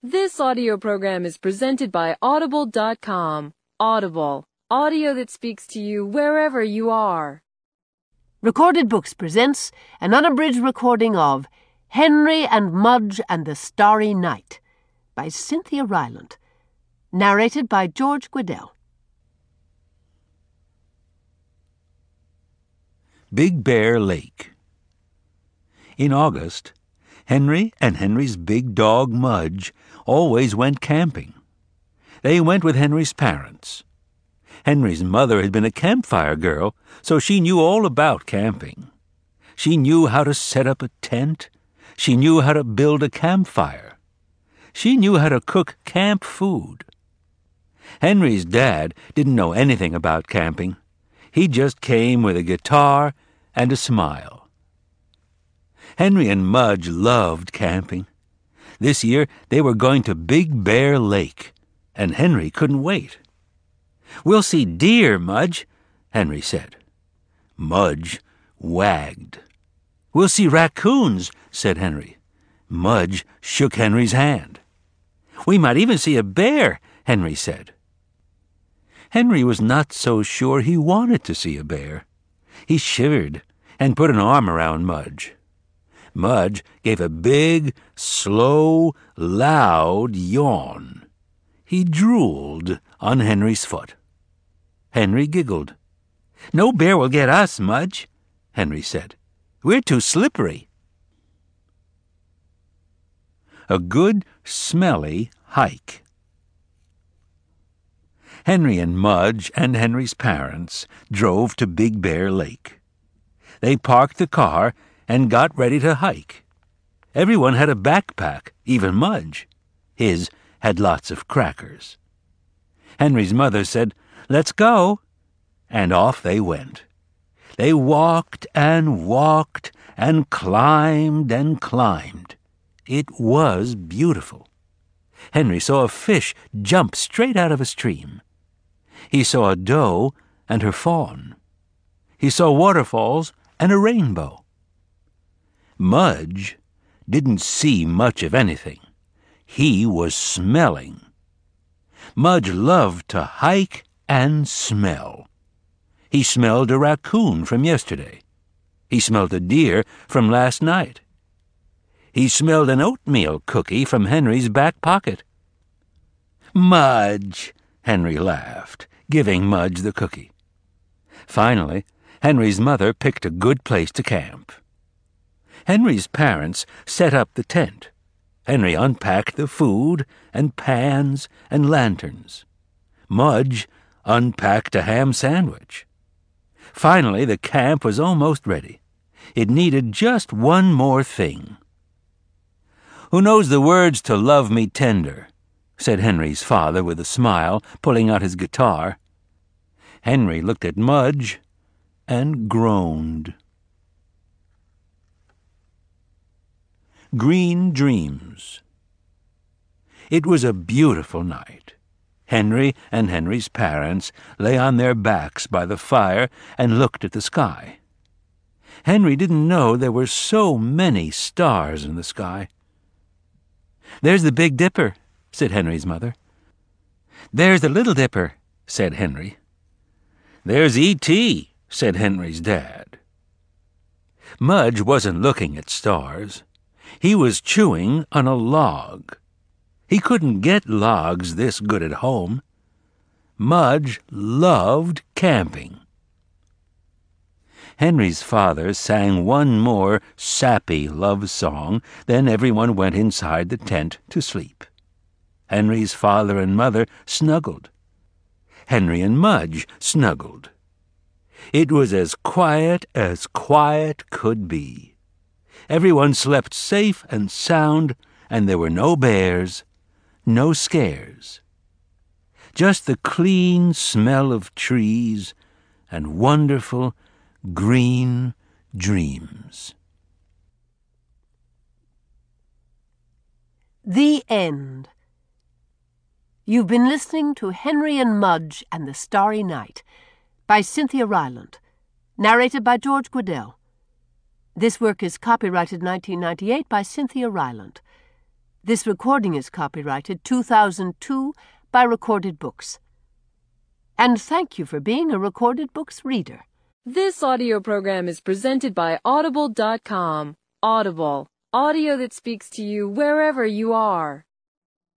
This audio program is presented by Audible.com. Audible, audio that speaks to you wherever you are. Recorded Books presents an unabridged recording of Henry and Mudge and the Starry Night by Cynthia Rylant, narrated by George Guidell. Big Bear Lake. In August, Henry and Henry's big dog Mudge always went camping. They went with Henry's parents. Henry's mother had been a campfire girl, so she knew all about camping. She knew how to set up a tent. She knew how to build a campfire. She knew how to cook camp food. Henry's dad didn't know anything about camping. He just came with a guitar and a smile. Henry and Mudge loved camping. This year they were going to Big Bear Lake, and Henry couldn't wait. "We'll see deer, Mudge," Henry said. Mudge wagged. "We'll see raccoons," said Henry. Mudge shook Henry's hand. "We might even see a bear," Henry said. Henry was not so sure he wanted to see a bear. He shivered and put an arm around Mudge. Mudge gave a big, slow, loud yawn. He drooled on Henry's foot. Henry giggled. "No bear will get us, Mudge," Henry said. "We're too slippery." A good, smelly hike. Henry and Mudge and Henry's parents drove to Big Bear Lake. They parked the car and got ready to hike. Everyone had a backpack, even Mudge. His had lots of crackers. Henry's mother said, "Let's go," and off they went. They walked and walked and climbed and climbed. It was beautiful. Henry saw a fish jump straight out of a stream. He saw a doe and her fawn. He saw waterfalls and a rainbow. Mudge didn't see much of anything. He was smelling. Mudge loved to hike and smell. He smelled a raccoon from yesterday. He smelled a deer from last night. He smelled an oatmeal cookie from Henry's back pocket. "Mudge," Henry laughed, giving Mudge the cookie. Finally, Henry's mother picked a good place to camp. Henry's parents set up the tent. Henry unpacked the food and pans and lanterns. Mudge unpacked a ham sandwich. Finally, the camp was almost ready. It needed just one more thing. "Who knows the words to Love Me Tender?" said Henry's father with a smile, pulling out his guitar. Henry looked at Mudge and groaned. Green Dreams. It was a beautiful night. Henry and Henry's parents lay on their backs by the fire and looked at the sky. Henry didn't know there were so many stars in the sky. "There's the Big Dipper," said Henry's mother. "There's the Little Dipper," said Henry. "There's E.T.," said Henry's dad. Mudge wasn't looking at stars. He was chewing on a log. He couldn't get logs this good at home. Mudge loved camping. Henry's father sang one more sappy love song, then everyone went inside the tent to sleep. Henry's father and mother snuggled. Henry and Mudge snuggled. It was as quiet could be. Everyone slept safe and sound, and there were no bears, no scares. Just the clean smell of trees and wonderful green dreams. The End. You've been listening to Henry and Mudge and the Starry Night by Cynthia Rylant, narrated by George Guidell. This work is copyrighted 1998 by Cynthia Rylant. This recording is copyrighted 2002 by Recorded Books. And thank you for being a Recorded Books reader. This audio program is presented by Audible.com. Audible, audio that speaks to you wherever you are.